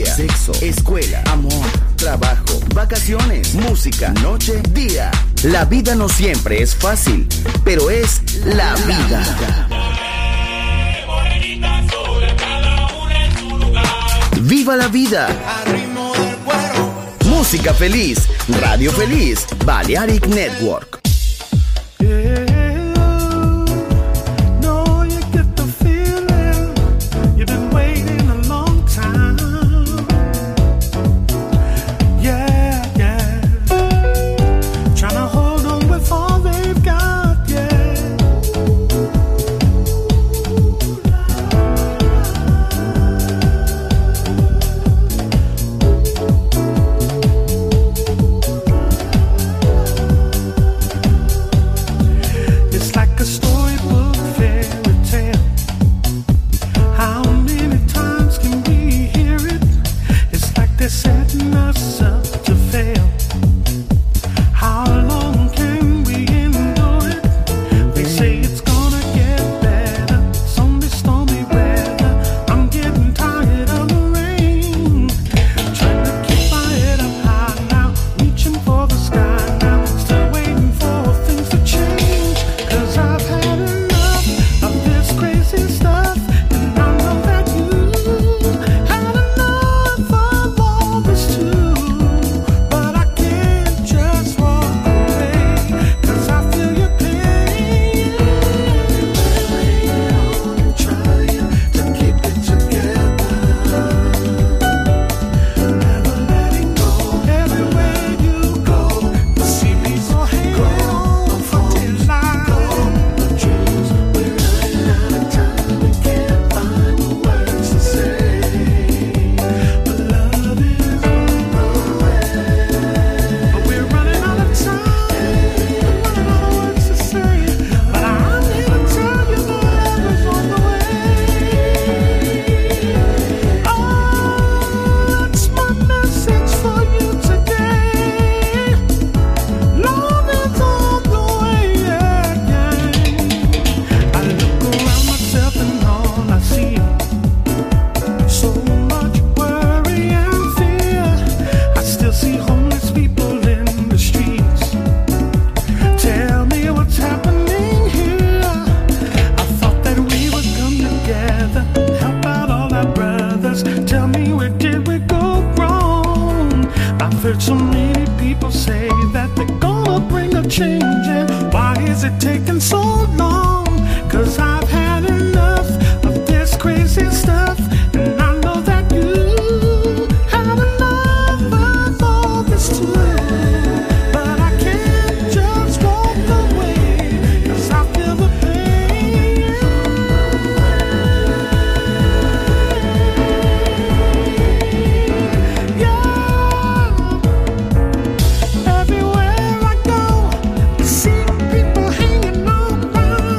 familia, sexo, escuela, amor, trabajo, vacaciones, música, noche, día. La vida no siempre es fácil, pero es la vida. ¡Viva la vida! Música feliz, radio feliz, Balearic Network. Everywhere I go, I see people hanging on by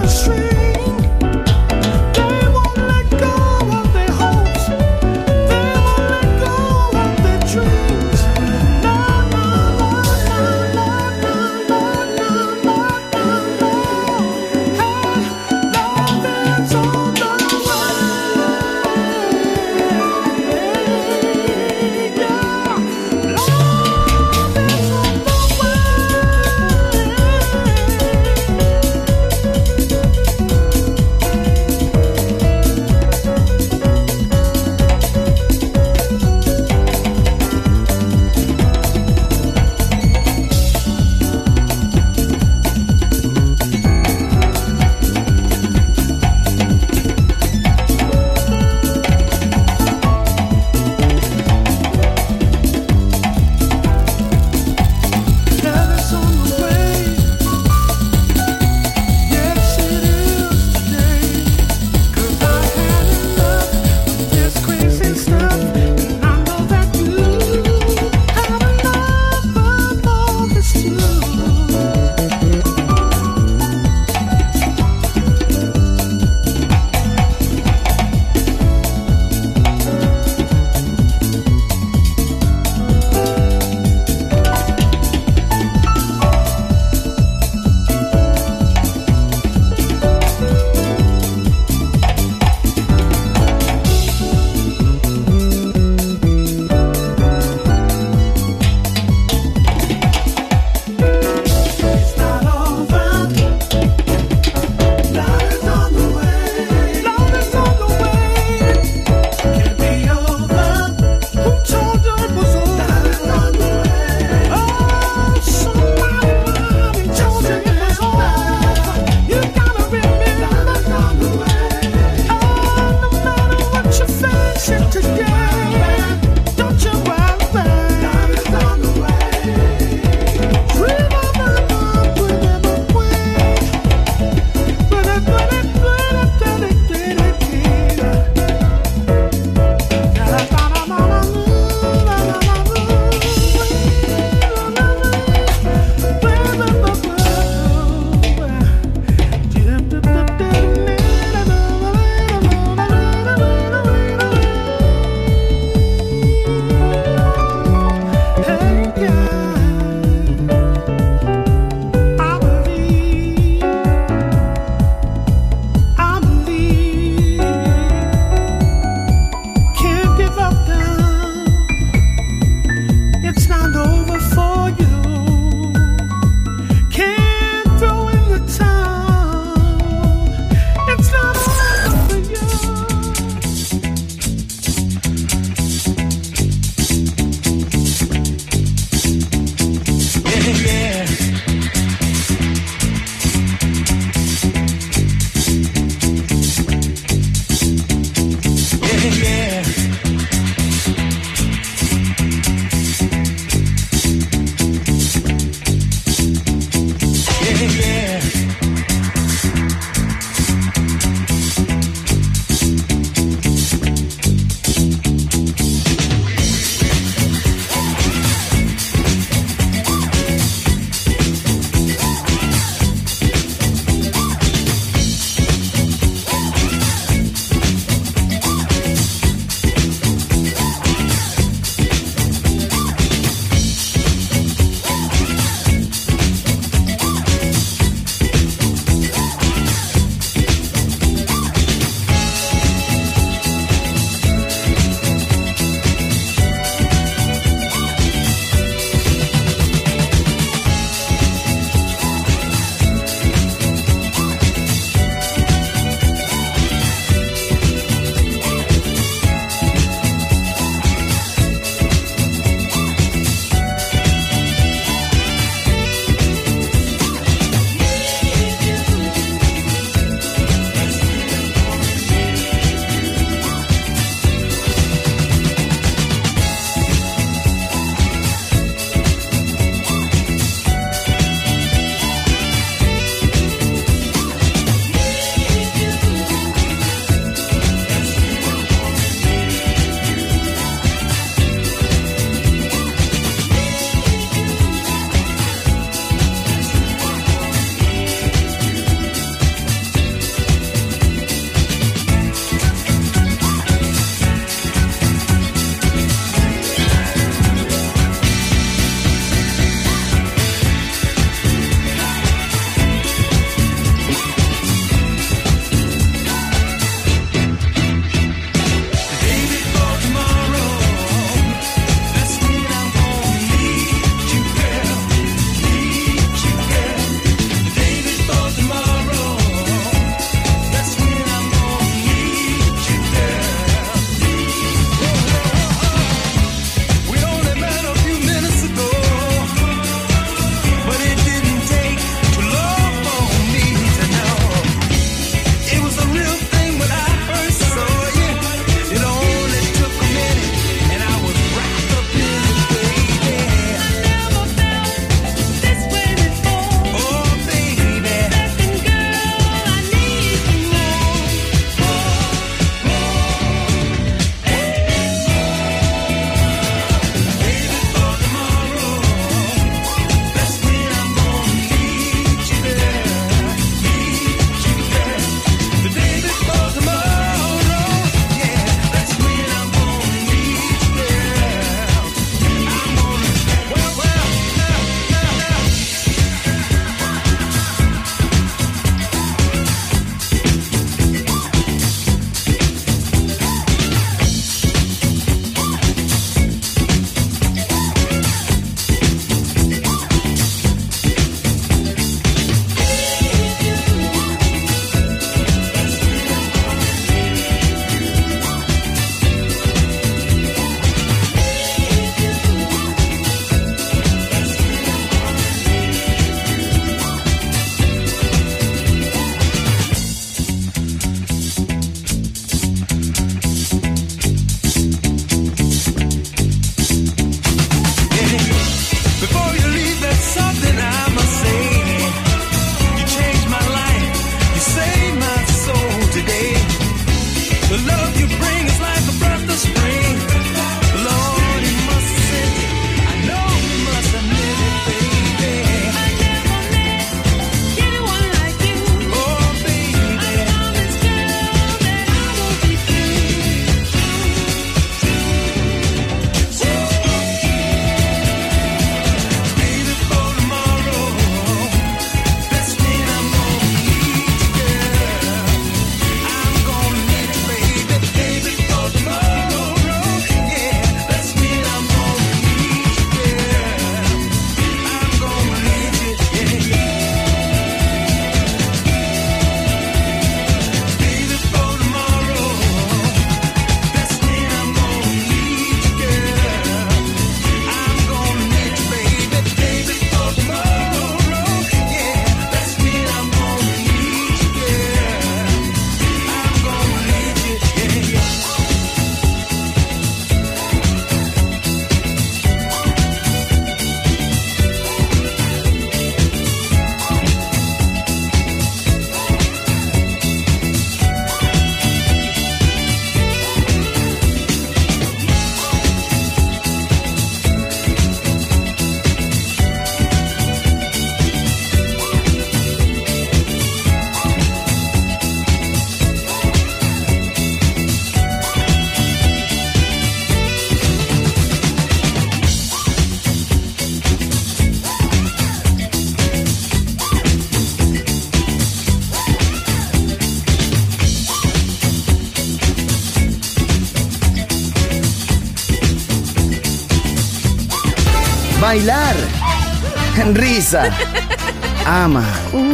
Bailar, risa, ama,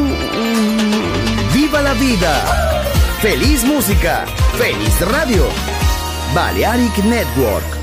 viva la vida, feliz música, feliz radio, Balearic Network.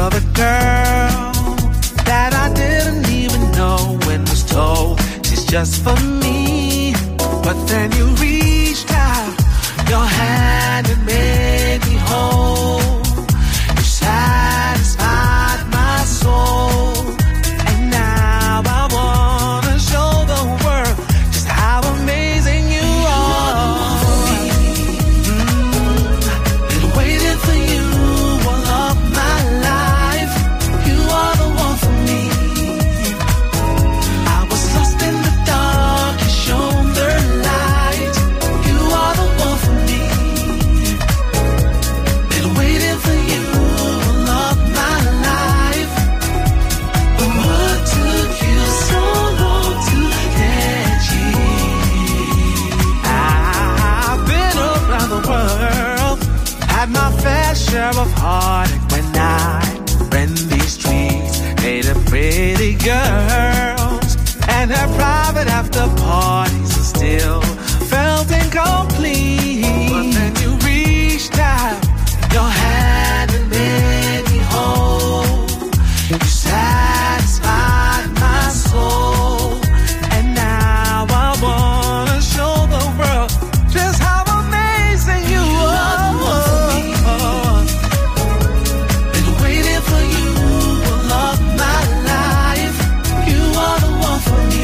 another girl that I didn't even know when was told she's just for me. But then you reached out your hand and made me whole. You satisfied my soul, and now I wanna show the world just how amazing you are. Been waiting for you all of my life. You are the one for me. I was lost in the dark, you shone the light. You are the one for me. Been waiting for you all of my life. But what took you so long to get here? I've been around the world, had my fair share of heartache when I ran these streets, hated pretty girls and had private after parties and still felt incomplete. But then you reached out your hand and made me whole. You satisfied my soul, and now I wanna show the world just how amazing you are. Been waiting for you all of my life. You are the one for me.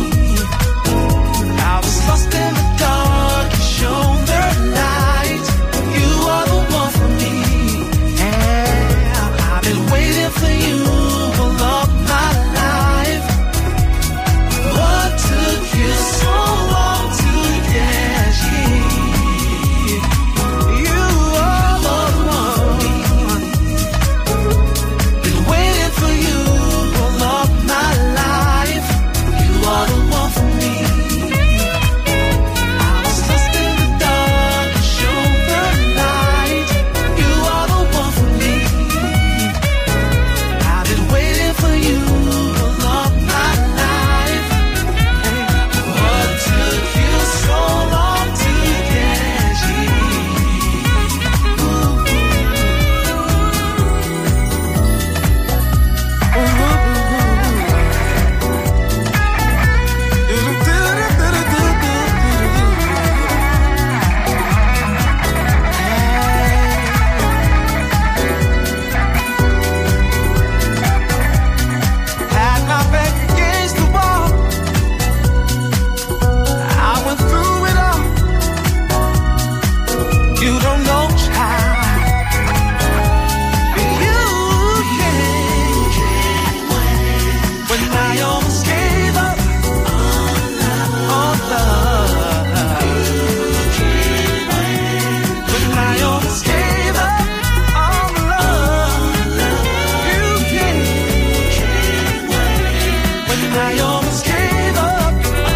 I was lost in the dark, you shone the light. You are the one for me. Yeah, I've been waiting for you all of my life. What took you so long to get here? You are the one. Been waiting for you all of my life. You are the one for me. I was lost in the dark, you shone the light. You are the one for me. I've been waiting for you all of my life. What took you so long to get here? Had my back against the wall. I went through it all. You don't know, child. You came when I almost gave up on love. When I almost gave up on love. You came when I almost gave up.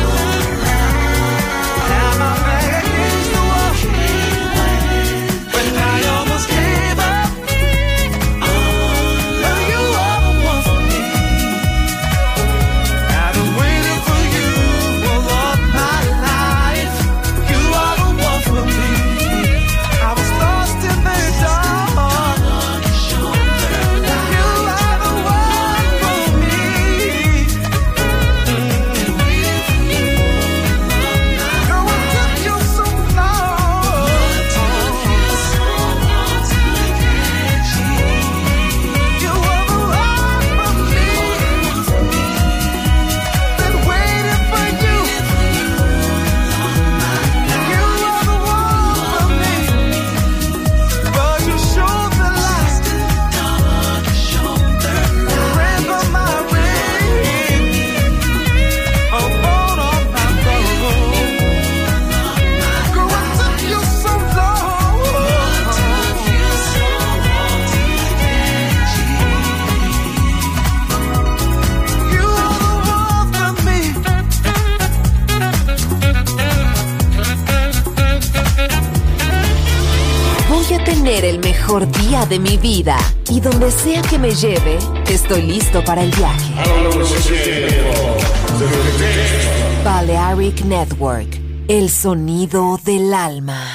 Had my back against the wall. When I almost gave up. Now you are the one for me. I've been waiting for you all of my life. You are the one for me. I was lost in the dark. You are the one for me. Girl, what took you so long? You are the one for me. Been waiting for you. You are the one for me. But you showed the light. Ran for my ring. Upon all my gold. Girl, what took you so long? You are the one for me. Voy a tener el mejor día de mi vida y donde sea que me lleve, estoy listo para el viaje. Balearic Network, el sonido del alma.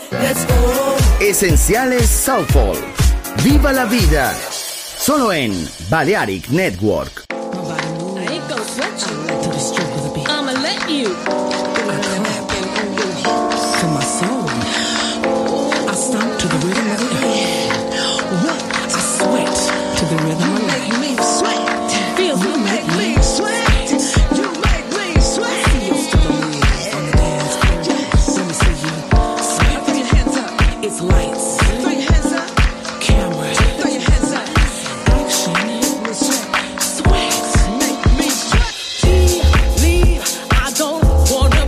Let's go. Esenciales Soulful. Viva la vida. Solo en Balearic Network. I ain't gonna sweat you. I'ma let you. To my soul, I stomp to the rhythm of the earth. What? I sweat to the rhythm of life. You make me sweat. Feels you make me sweat. You make me sweat. See you still on the dance floor. Let me see you sweat. Throw your hands up. It's lights, Throw your hands up. camera, Throw your hands up. action, sweat. Make me sweat. Leave. I don't wanna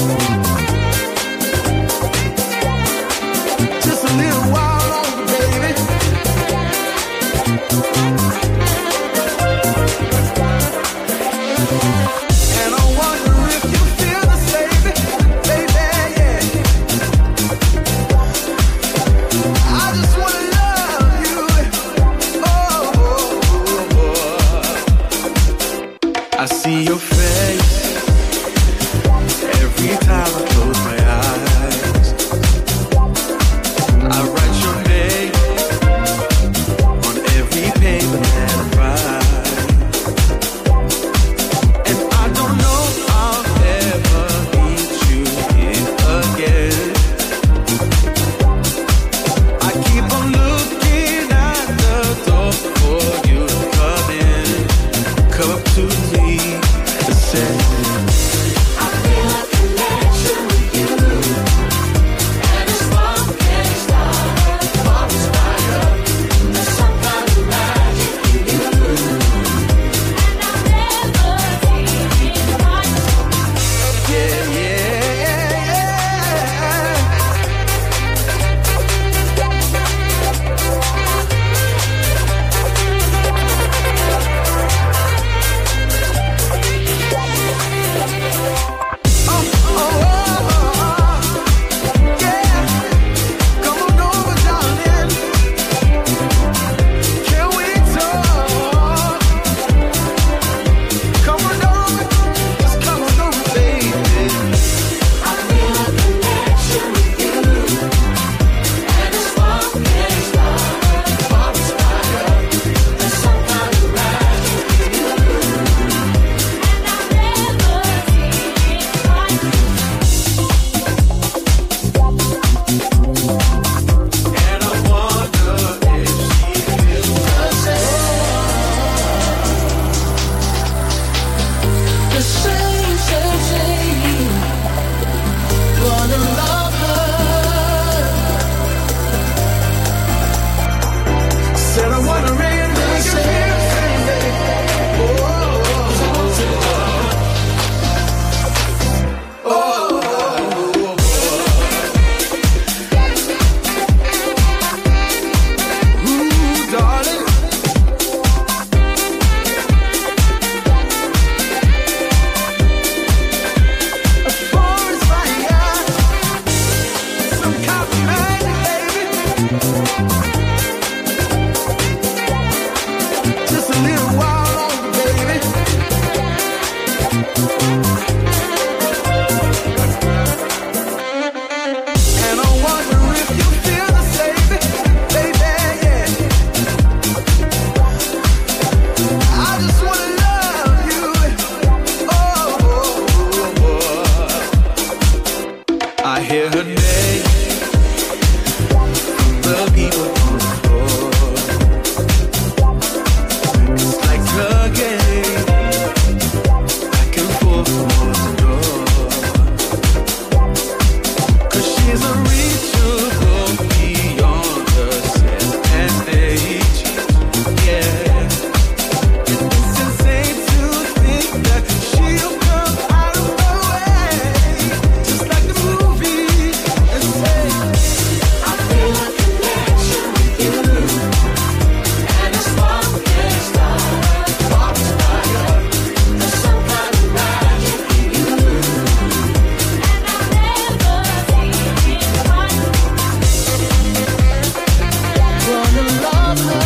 Just a little while longer, baby. And I wonder if you feel the same, baby, yeah. I just wanna love you. Oh. I see your face every time I close my eyes. I write your name on every paper that I write, and I don't know I'll ever meet you here again. I keep on looking at the door for you to come in, come up to me and say, I feel a connection with you, and it's spark can't start, spark is fire. There's some kind of magic in you, and I'll never take it right. Yeah, come on over, darling. Can we talk? Come on over, just come on over, baby. I feel a connection with you, and it's spark can't start, spark is fire. There's some kind of magic in you, and I'll never take it right. And I wonder if she feels the same, same. Gonna love her. Said I wanna really make her feel the same, baby. Ooh, darling. A forest fire, some kind of magic, baby. Just a little while longer, baby. And I wonder if you feel the same, baby, yeah. I just wanna love you. Oh. I hear her name from the people on the floor. It's like tugging back and forth towards the door. 'Cause she's unreachable beyond the set and stage. Yeah. It's insane to think that she'll come out of the way, just like the movie, and say, I feel a connection with you, and it's spark can't start, spark is fire. There's some kind of magic in you, and I'll never take it right. Wanna love her.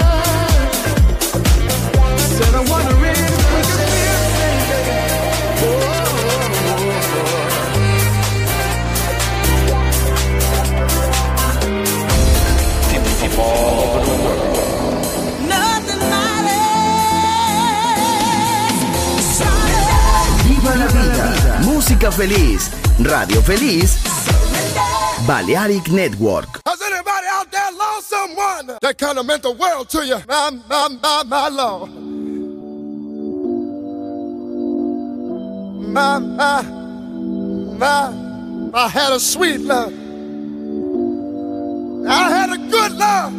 Said I wanna really make her feel the same, baby. Nothing matters. Viva la vida. Música feliz. Radio feliz. Balearic Network. Has anybody out there lost someone that kind of meant the world to you? My Lord. I had a sweet love. I had a good love.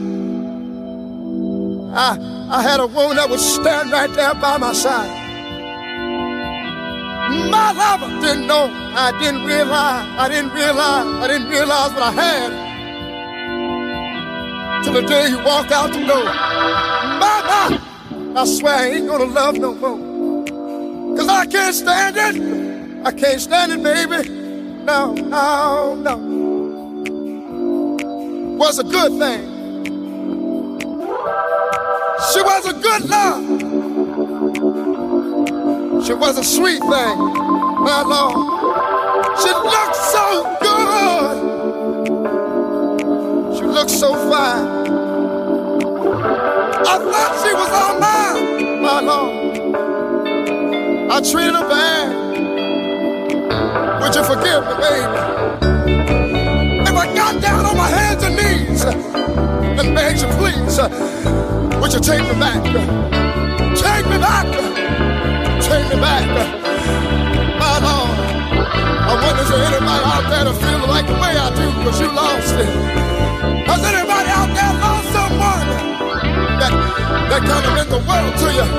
I had a woman that would stand right there by my side. My lover didn't know, I didn't realize what I had till the day he walked out the door. My, I swear I ain't gonna love no more. 'Cause I can't stand it. I can't stand it, baby. No, no, no. Was a good thing. She was a good love. She was a sweet thing, my Lord. She looked so good. She looked so fine. I thought she was all mine, my Lord. I treated her bad. Would you forgive me, baby? If I got down on my hands and knees and begged you, please, would you take me back? Take me back. Take me back, my Lord. I wonder if there's anybody out there that feels like the way I do, because you lost it. Has anybody out there lost someone that kind of meant the world to you?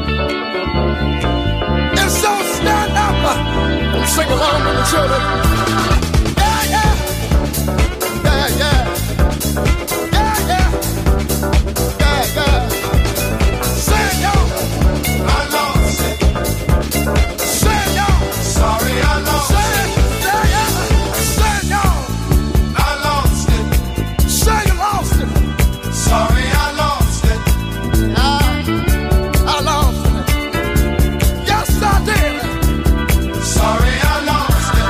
And so stand up and sing along with the children. Yeah, yeah. Yeah, yeah. Yeah, yeah. Yeah, yeah. Sing, y'all. I lost it. Sorry, I lost it. Say y'all. I lost it. Say you lost it. Sorry, I lost it. I lost it. Yes, I did. Sorry, I lost it.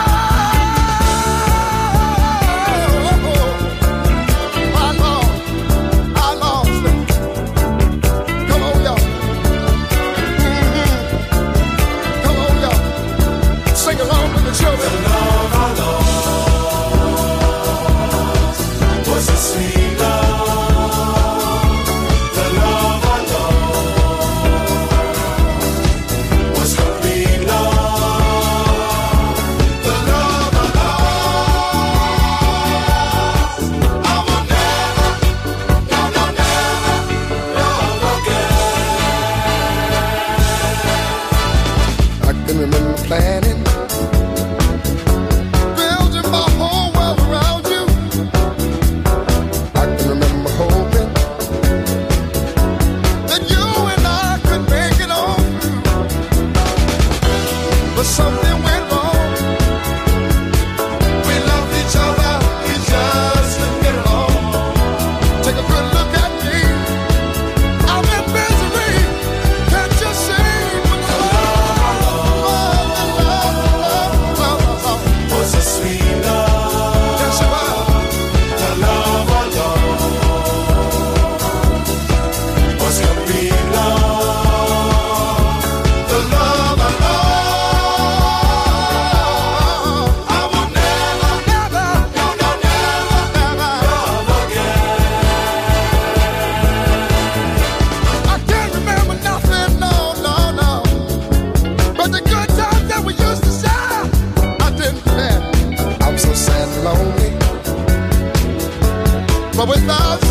I lost it. Come on, y'all. Come on, y'all. Sing along with the children. The love I lost was a sweet love. The love I lost was complete love. The love I lost, I will never, no, no, never love again. I can remember planning, building my whole world around you. I can remember hoping that you and I could make it on through. But something went wrong. We loved each other, we just couldn't get along. Take a good look at me. I'm in misery. Can't you see what the love Was a sweet love. yes, you are. The love I lost was complete love. The love I lost, I will never, Never, no, no, never never. love again. I can't remember nothing, no, no, no. But the good times that we used to share, I didn't care. I'm so sad and lonely. But without